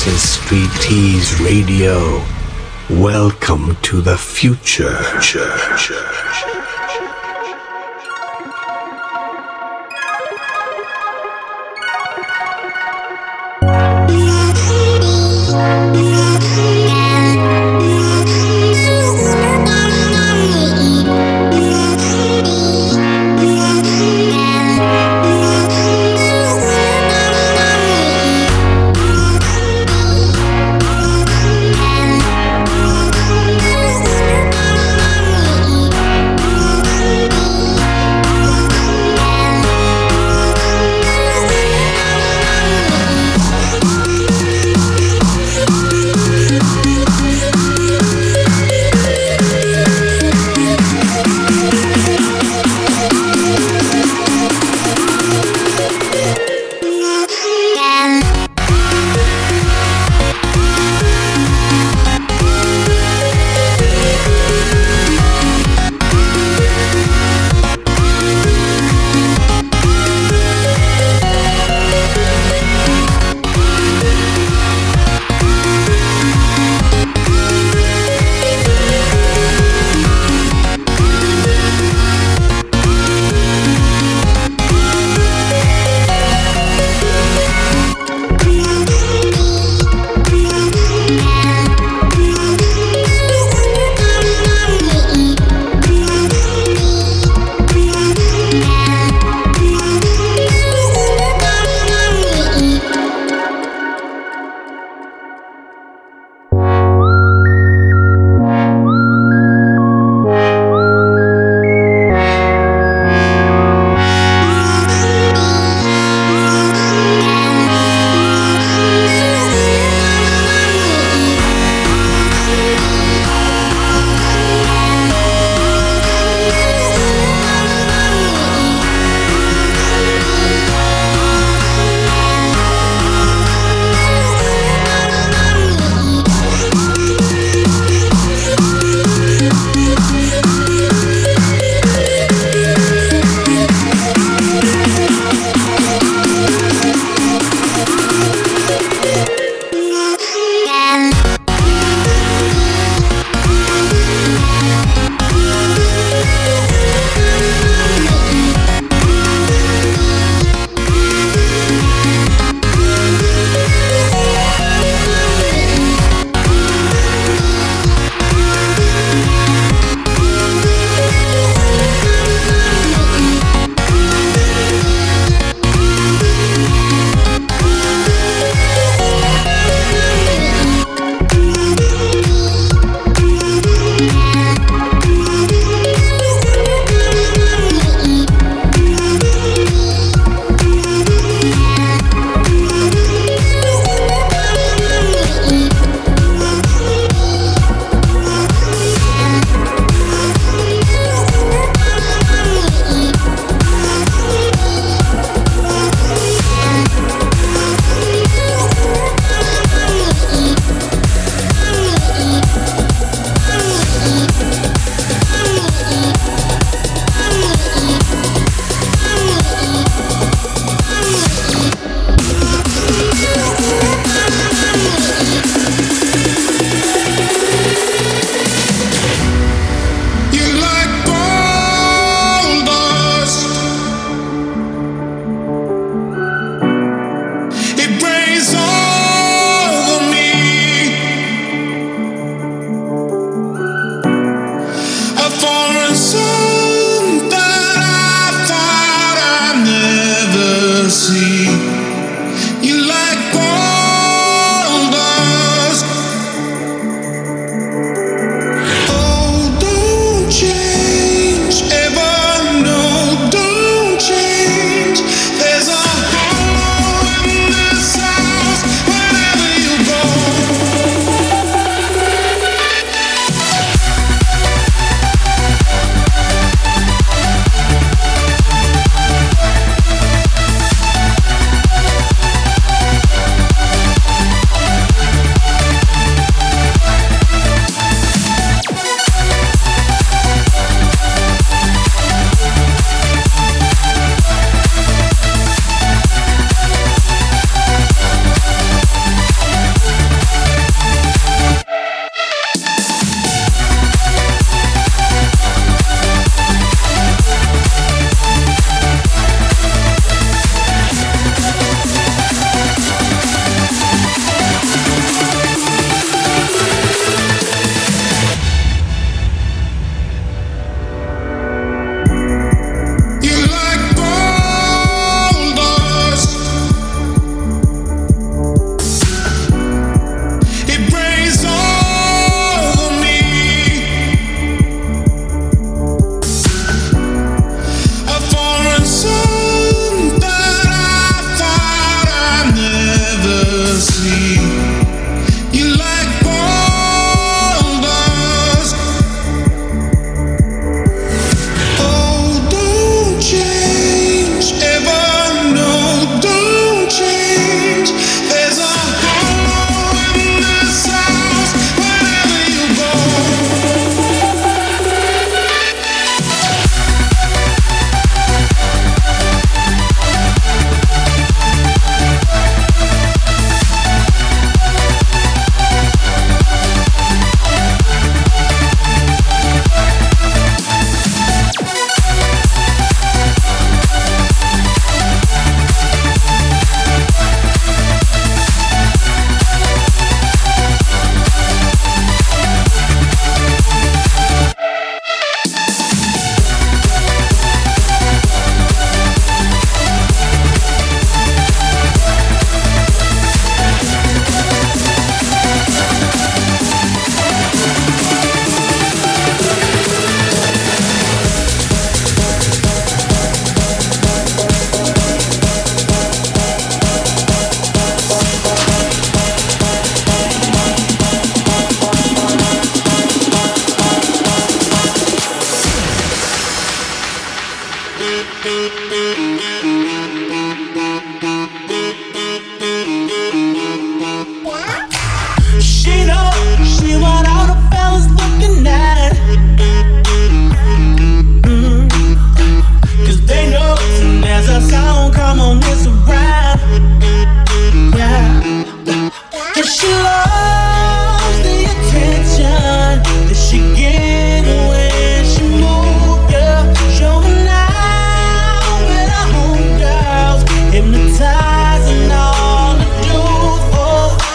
This is Street Tease Radio. Welcome to the future.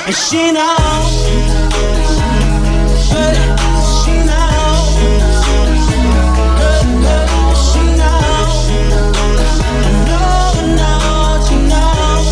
And she knows, good, she knows, good, she knows, no, she knows,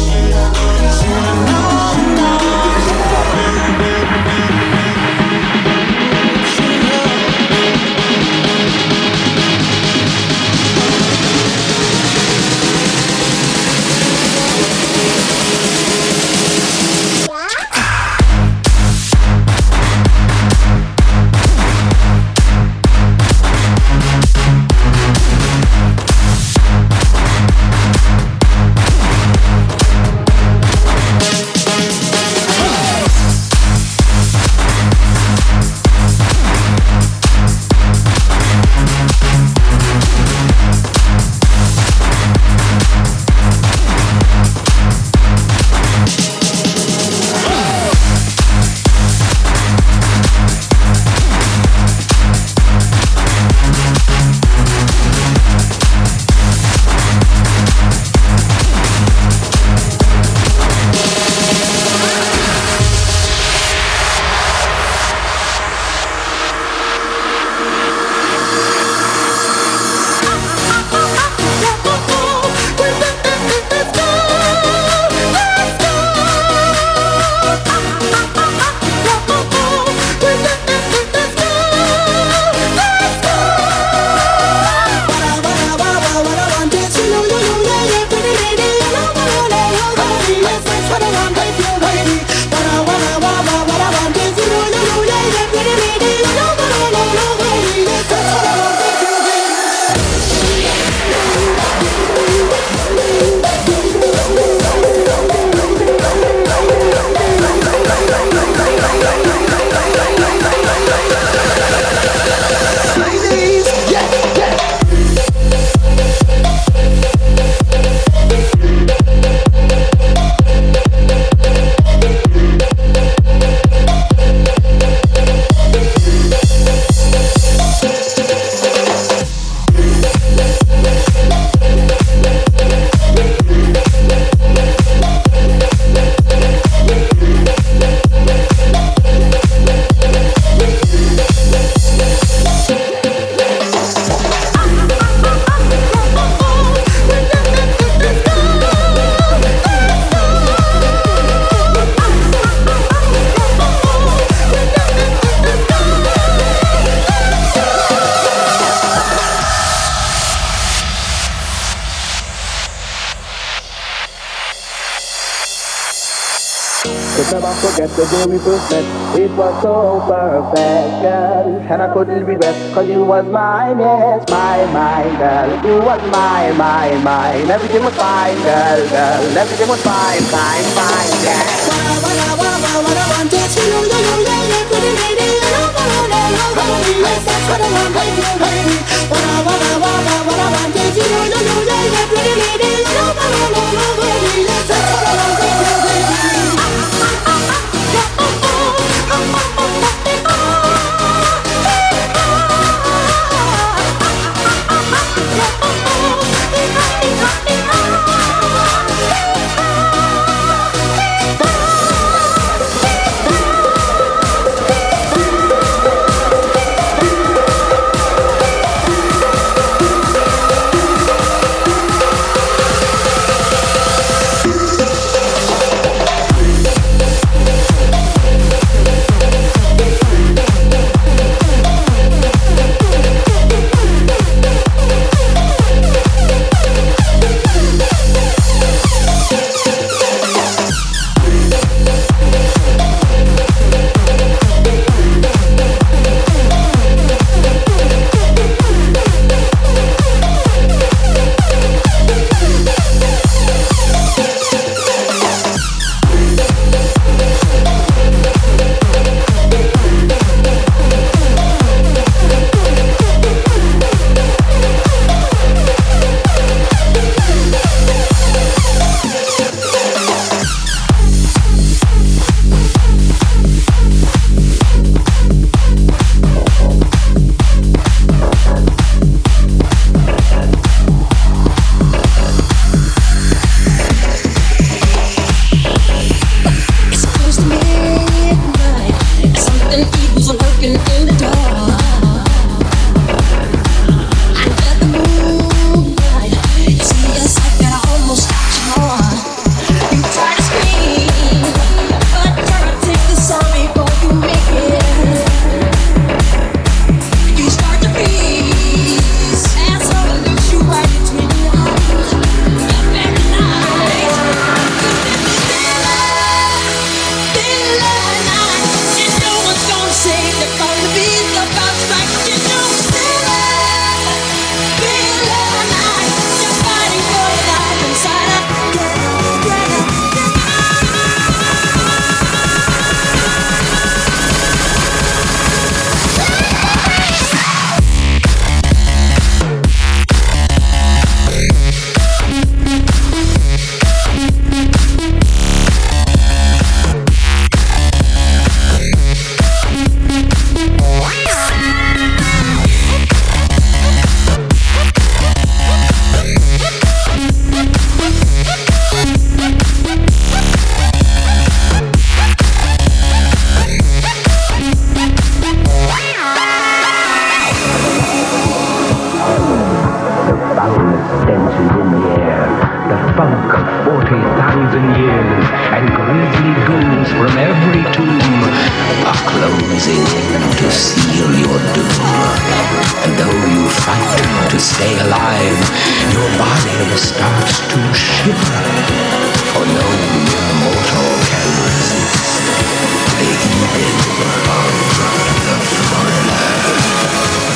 Could never forget the day we first met. It was so perfect, girl. And I couldn't regret, cause you was mine, yes, my girl. You was mine. Everything was fine, girl. Everything was fine, yeah. What I want is you, pretty lady. That's what I want, baby. What I want is you, pretty lady. That's what I want, baby. starts to shiver. For no mortal can resist the evil of the thriller.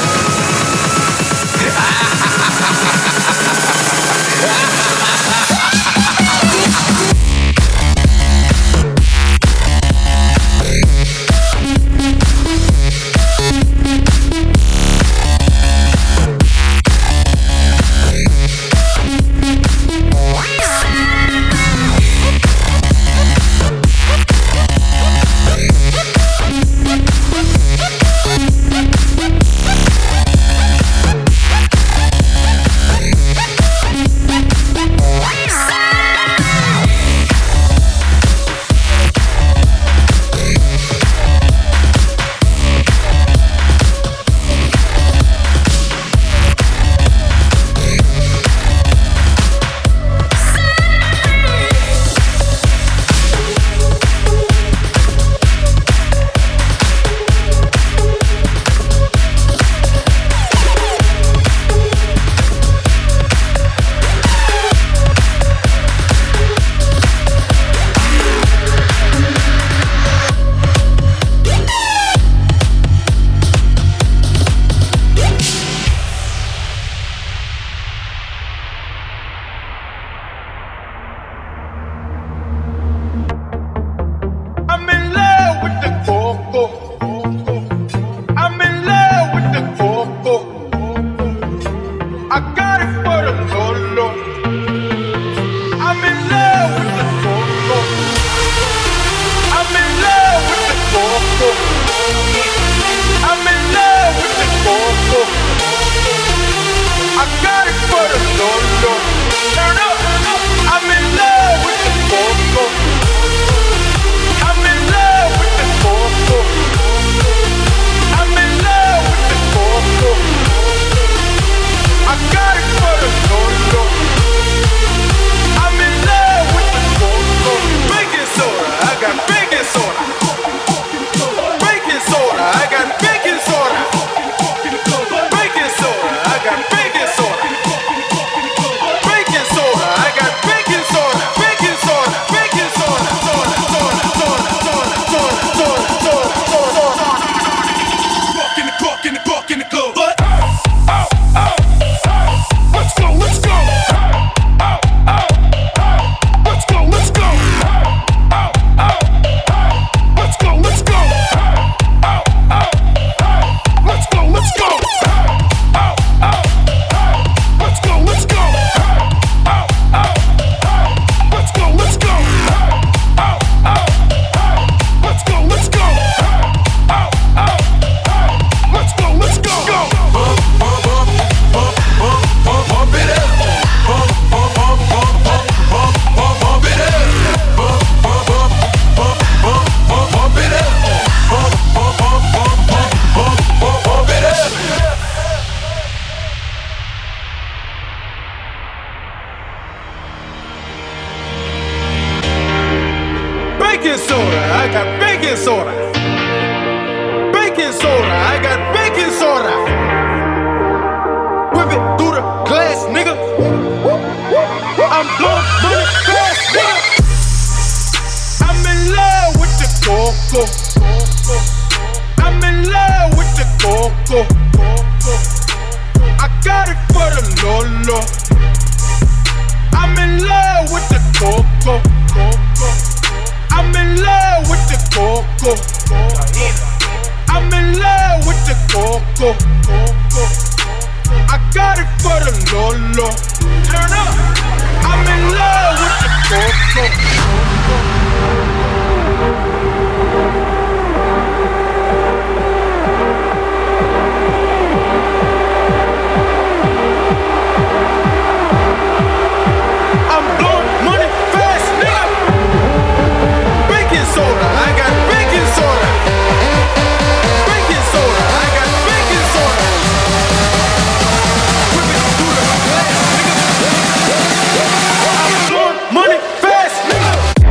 Money fast, nigga.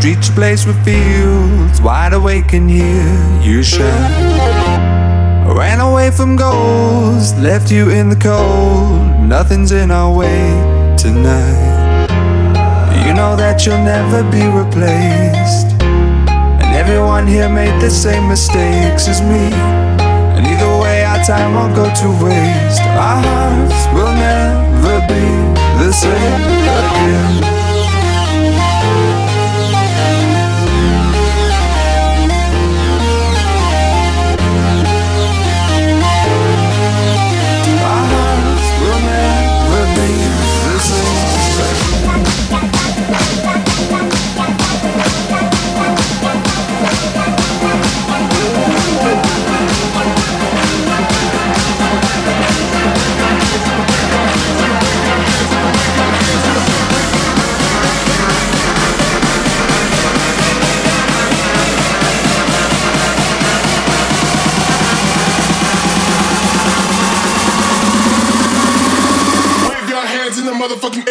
reach a place with fields wide awake and hear you shout. I ran away from ghosts, left you in the cold. Nothing's in our way tonight. You know that you'll never be replaced, and everyone here made the same mistakes as me. And either way our time won't go to waste. Our hearts will never be the same again. Motherfucking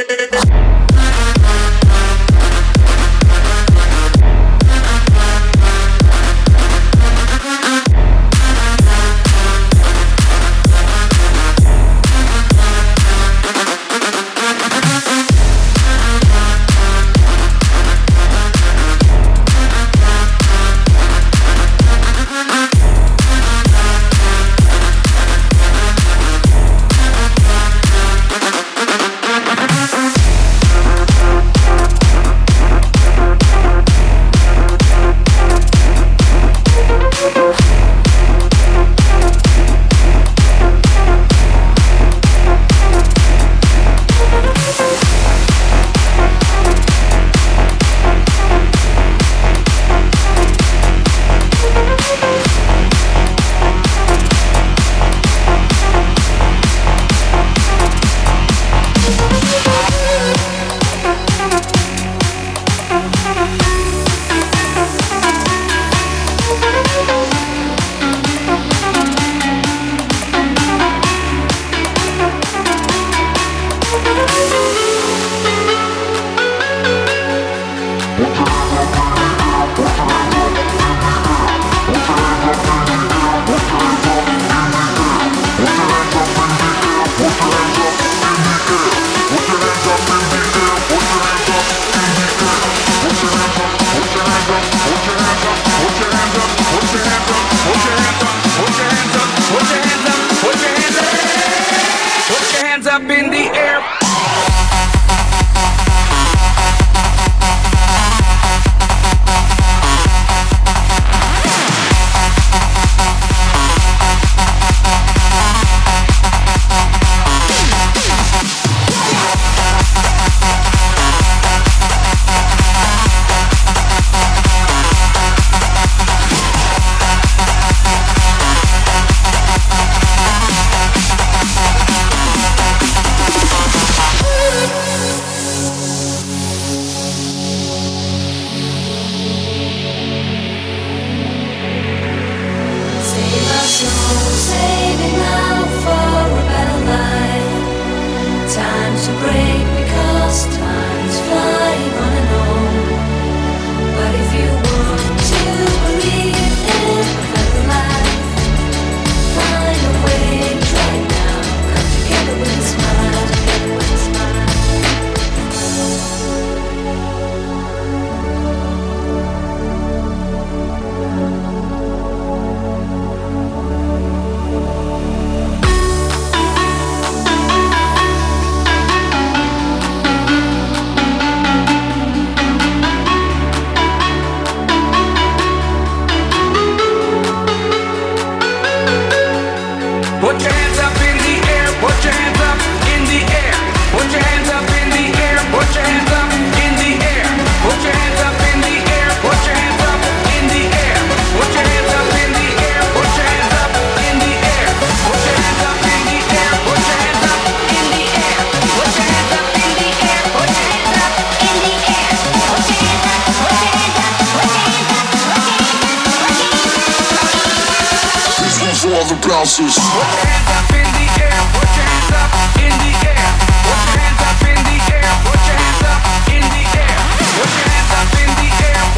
bouncers. Put your hands up in the air, put your hands up in the air. Put your hands up in the air, put your hands up in the air. Put your hands up in the air,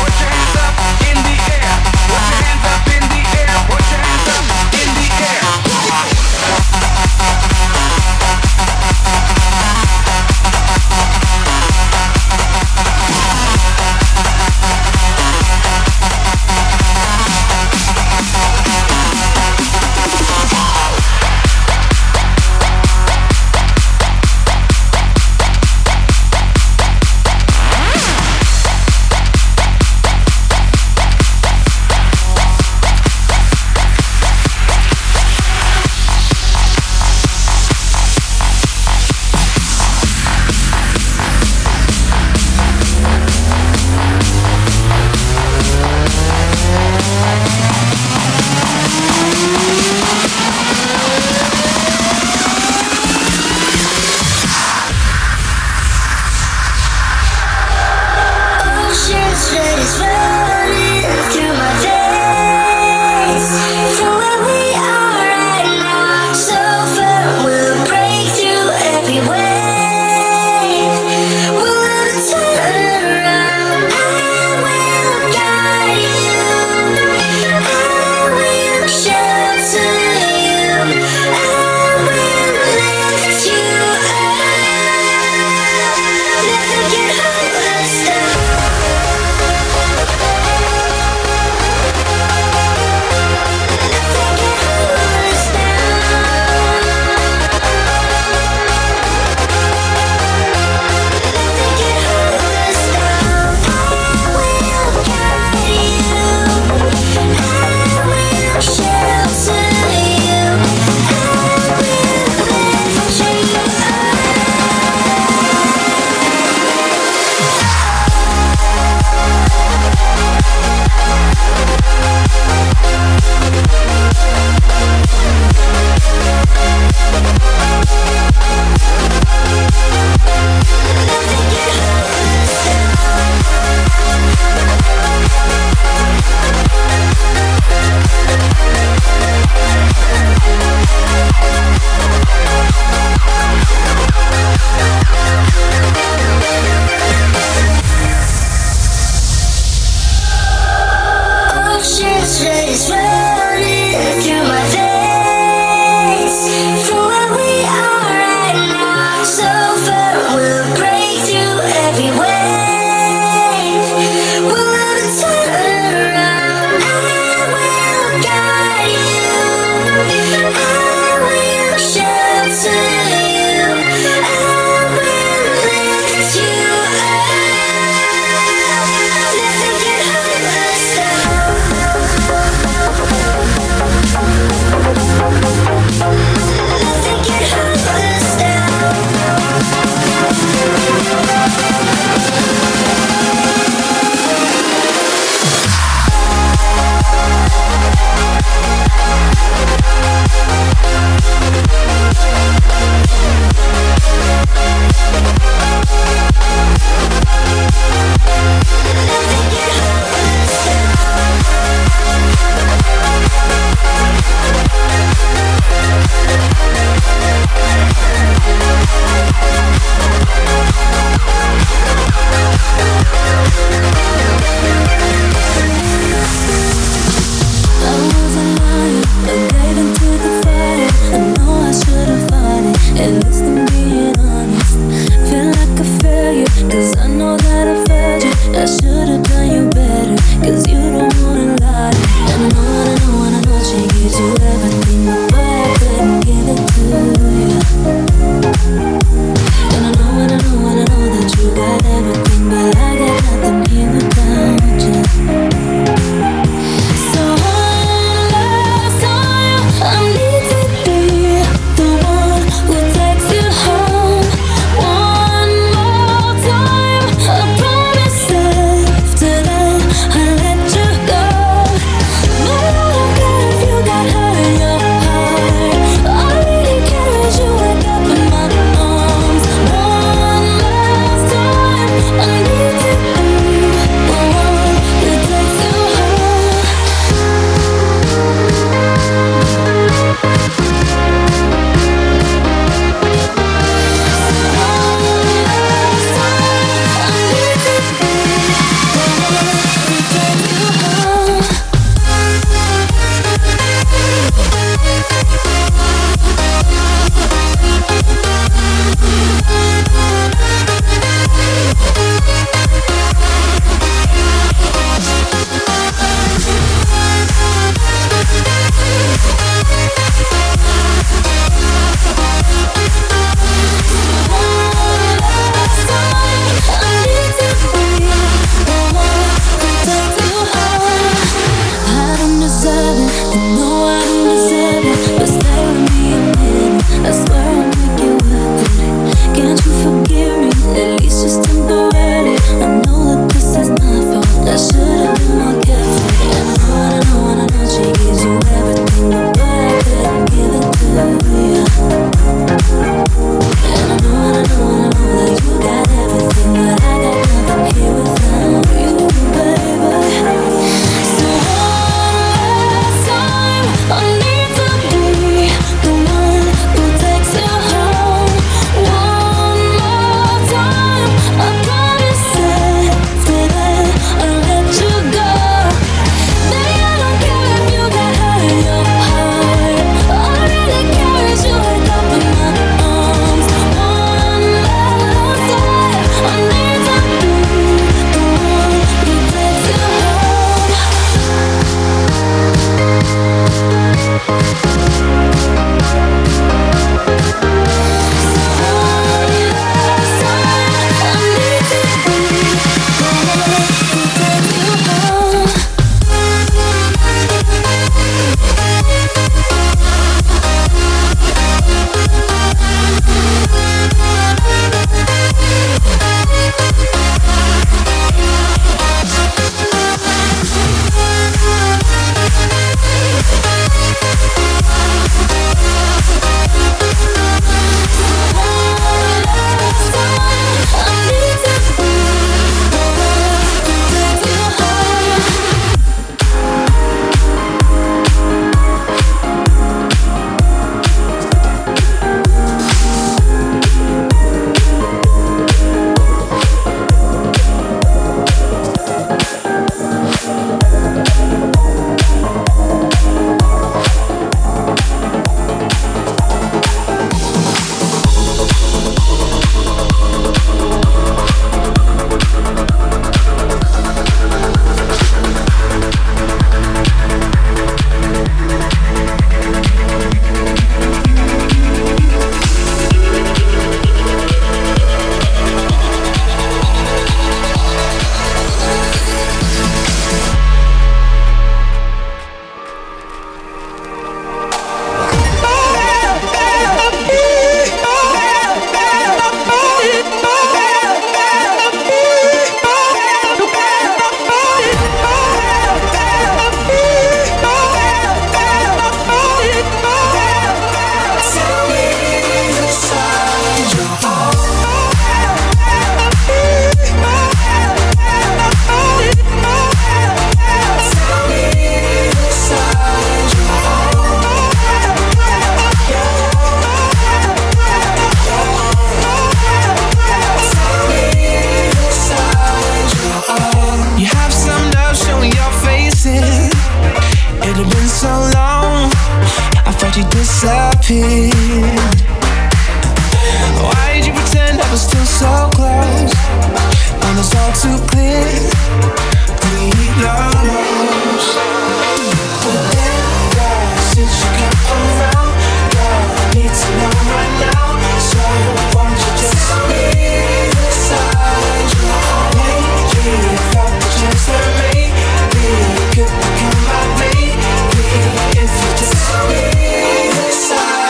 disappeared. Why did you pretend I was still so close when it's all too clear? We lost. But then, God, since you come around, God, I need to know right now. So won't you just leave the side? Maybe if I the chance that maybe you could become my baby. If you just leave the side.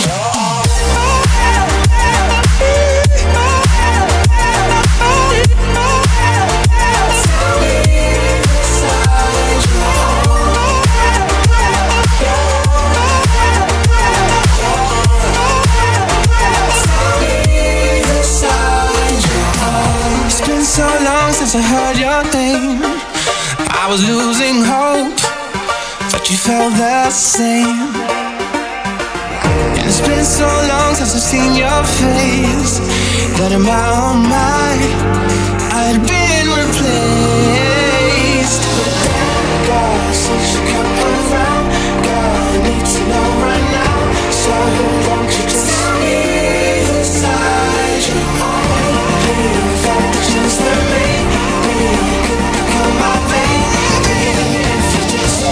So long since I heard your name, I was losing hope, but you felt the same. And it's been so long since I've seen your face, that in my own mind I'd been replaced. God, since you come around, God, I need to know right now. So won't you just leave aside your own pain? Just the baby, you could become my baby if you just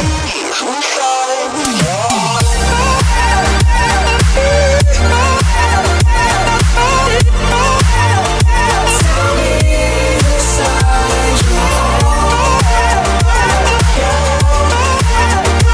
tell me the side you're on.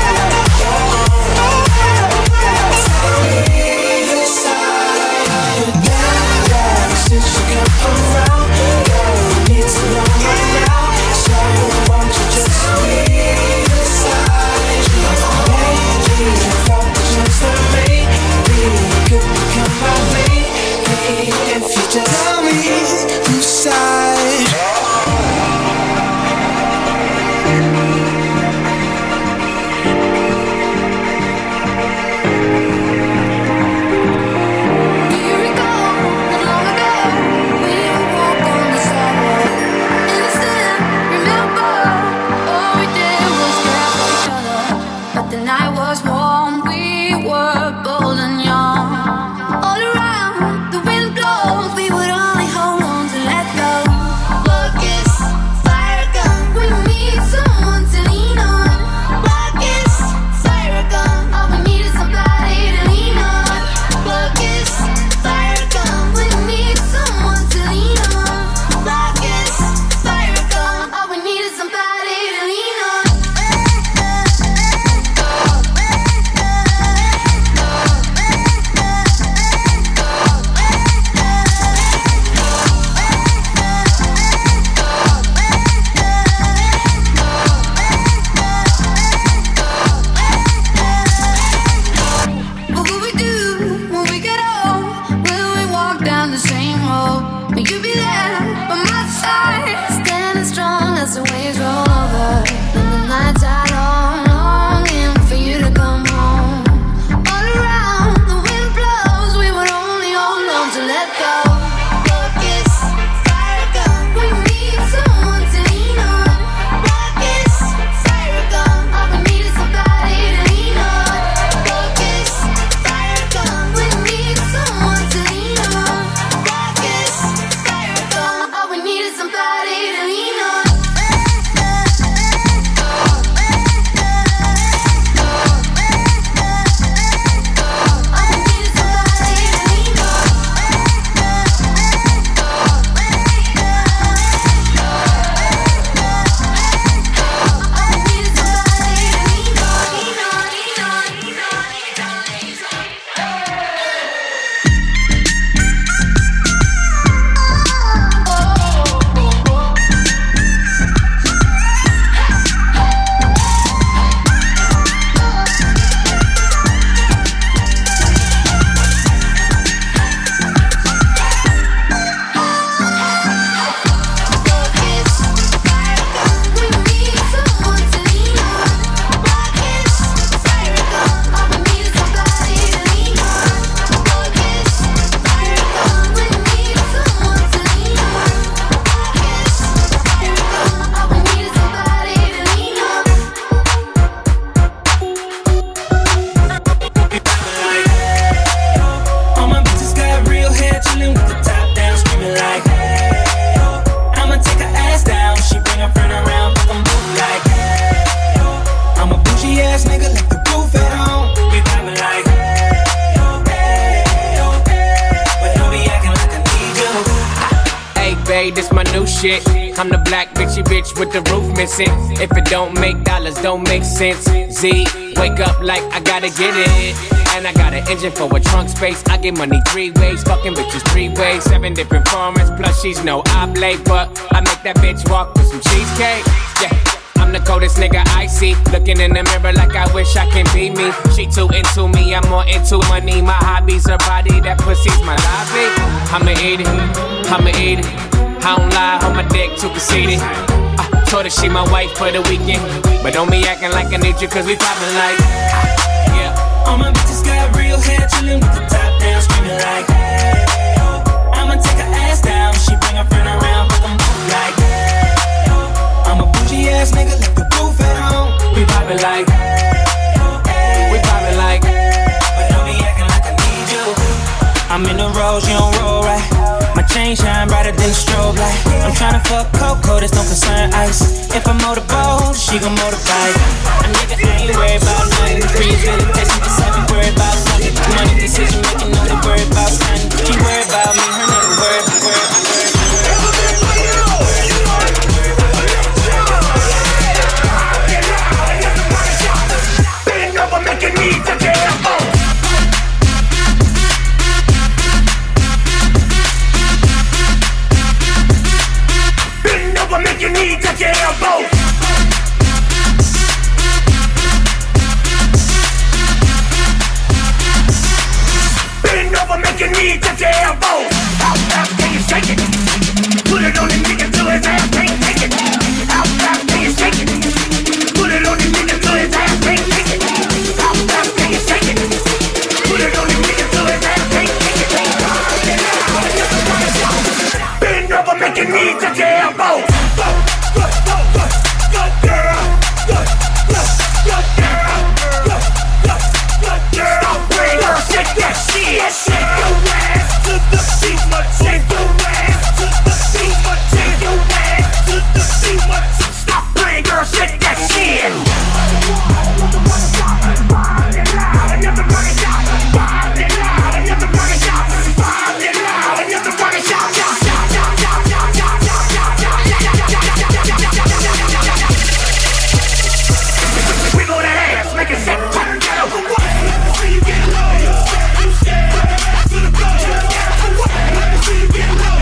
okay, this my new shit. I'm the black bitchy bitch with the roof missing. If it don't make dollars, don't make sense. Z, wake up like I gotta get it. And I got an engine for a trunk space. I get money 3 ways, fucking bitches 3 ways. 7 different formats, plus she's no oblate. But I make that bitch walk with some cheesecake. Yeah. I'm the coldest nigga I see. Looking in the mirror like I wish I can be me. She too into me, I'm more into money. My hobby's her body, that pussy's my lobby. I'ma eat it, I'ma eat it. I don't lie, on my dick too conceited. I told her she my wife for the weekend. But don't be acting like I need you, cause we poppin' like yeah. All my bitches got real hair, chillin' with the top down, screamin' like hey, oh. I'ma take her ass down, she bring her friend around, fuck them both like hey, oh. I'm a bougie ass nigga, let the roof at home. We poppin' like we poppin' like but don't be acting like I need you. I'm in the rose, you don't roll right. My chain shine brighter than a strobe light. I'm tryna fuck Coco, this don't concern ice. If I motorboat, she gon' motorbike. A nigga ain't worried about nothing. Breeze really texting, just have me worried about something. Money decision making, only worried about something. She worried about me, her nigga worried. Bend over, make your knees touch your elbows. Bend over, make your knees touch your elbows. Bend over, make your knees touch your elbows. How fast can you shake it? Put it on the nigga till his ass can't take it. How fast can you shake it? Put it on the nigga till his ass can't take it. How fast can you shake it? Put it on the nigga till his ass can't take it. Bend over, make your knees touch your elbows. Good girl. Good girl. Stop playing, girl, shake that shit. Shake your ass to the beat, shake your ass to the beat, shake your ass to the beat. Stop playing, girl, shake that shit. Wiggle that ass, make it shake. See you get low. To the floor. See you get low.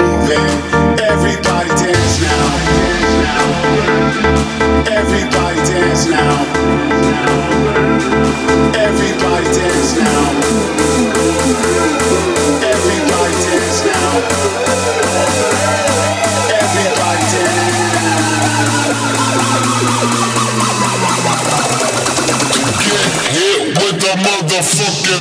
moving. Everybody dance now. Everybody dance now. Everybody dance now. Everybody dance now. Everybody dance. Get hit with the motherfucking.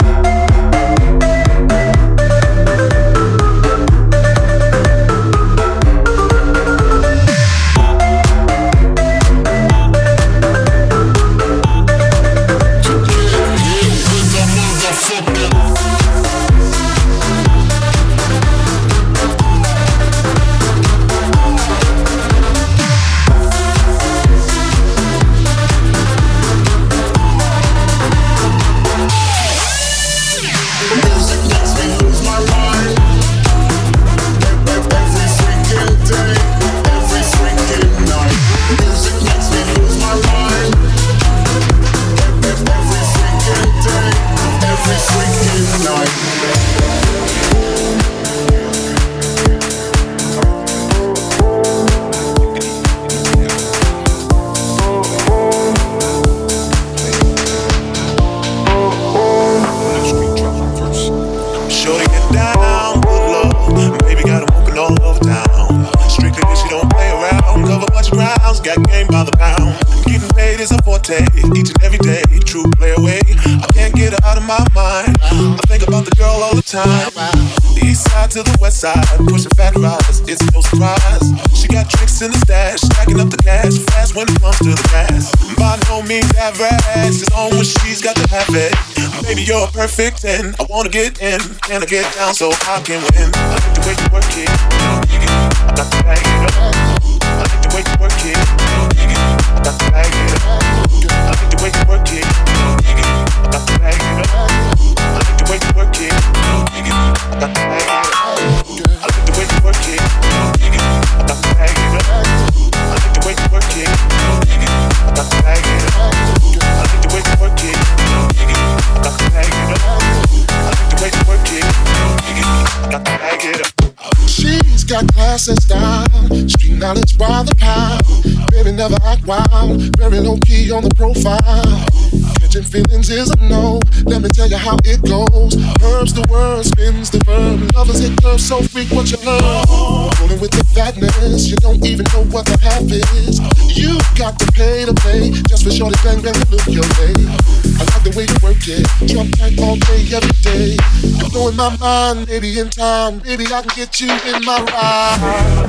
Each and every day, true play away. I can't get her out of my mind. I think about the girl all the time. The east side to the west side, pushing fat rides, it's no surprise. She got tricks in the stash, stacking up the cash fast when it comes to the gas. By no means average, it's on when she's got to have it. Baby, you're a perfect 10. I wanna get in, can I get down so I can win? I like the way you work it, I got to bag it up. I like the way you work it, I got to bag it up. I like the way you work it, I got to bag it up. I like the way you work it, I got to bag it up. I like the way you work it, I got to bag it up. I like the way you work it, I got to bag it up. I like the way you work it, I got to bag it up. I like the way you work it, I got to bag it up. She's got class and style, street knowledge by the pound. Baby never act wild, very low key on the profile. Catching feelings is a no, let me tell you how it goes. Herbs the word, spins the verb. Lovers hit curves, so freak what you love. Rolling with the fatness, you don't even know what the half is. You got to pay to play, just for shorty bang bang to look your way. I like the way you work it, drop tight all day, every day. You're blowing my mind, maybe in time, baby I can get you in my ride.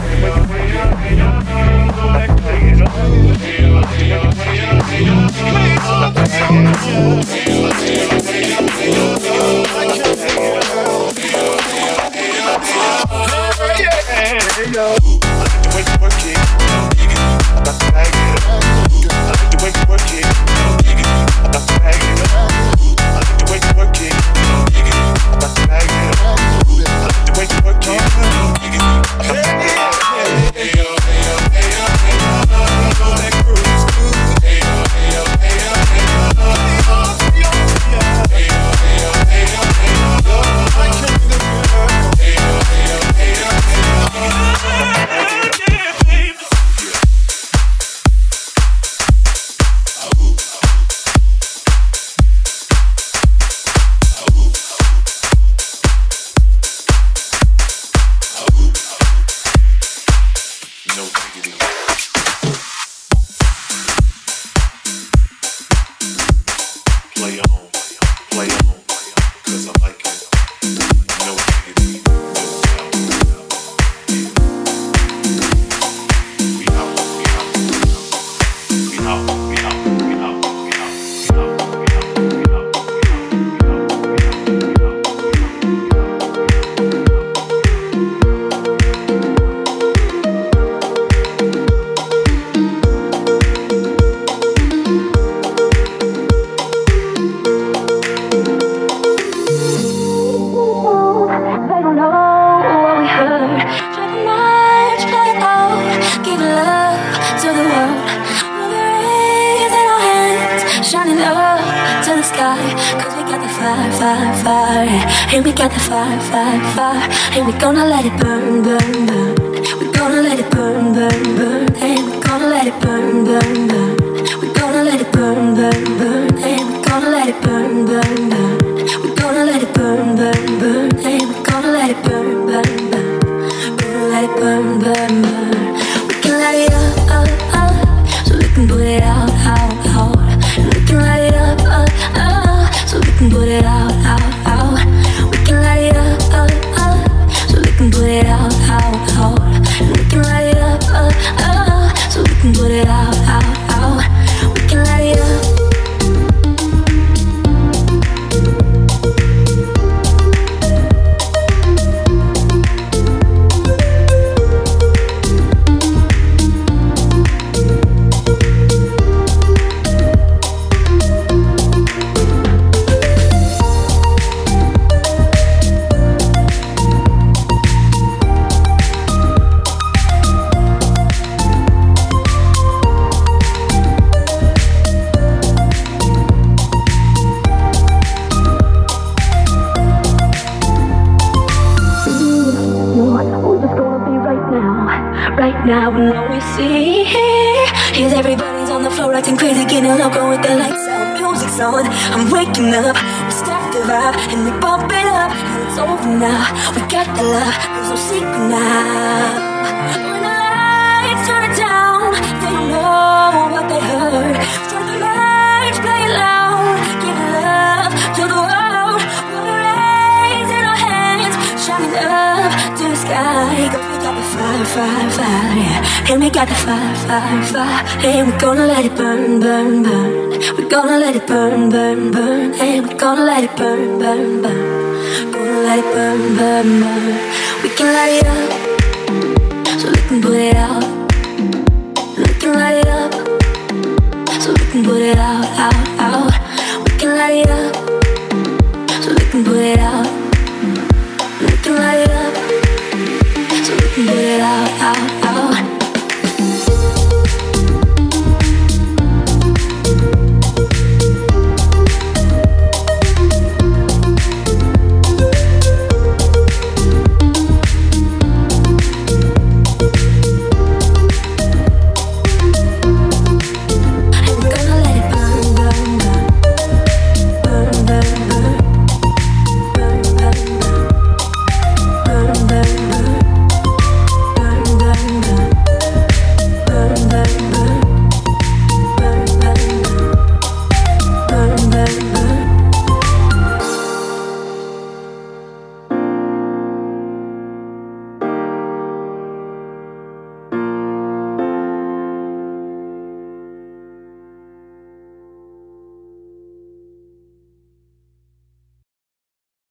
fire, fire, fire, and we got the fire, fire, fire, and we gonna let it burn, burn, burn. We gonna let it burn, burn, burn, and we gonna let it burn, burn, burn. We gonna let it burn, burn, burn, and we gonna let it burn, burn, burn. We gonna let it burn, burn, burn, and we gonna let it burn, burn, burn. Gonna let it burn, burn, burn. We can light it up, so we can put it out, out, out. And we can light it up, so we can put it out, out, out. We can light it up, so we can put it out, out, out. And we can light it up, so we can put it out, out, out. We can light it up. Now and all we see is everybody's on the floor acting crazy, getting loco with the lights out, music's on. I'm waking up, we start the vibe and we bump it up, and it's over now. We got the love, there's no secret now. When the lights turn it down, they don't know what they heard. Strike the lights, play it loud, give love to the world. We'll raise in our hands, shining up to the sky. Fire, fire, fire, yeah. And we got the fire, fire, fire, and we're gonna let it burn, burn, burn. We're gonna let it burn, burn, burn, and we're gonna let it burn, burn, burn. Gonna let it burn, burn, burn. We can light it up, so we can put it out. We can light it up, so we can put it out, out, out. We can light it up, so we can put it out. We can light it up, so we can put it out, out.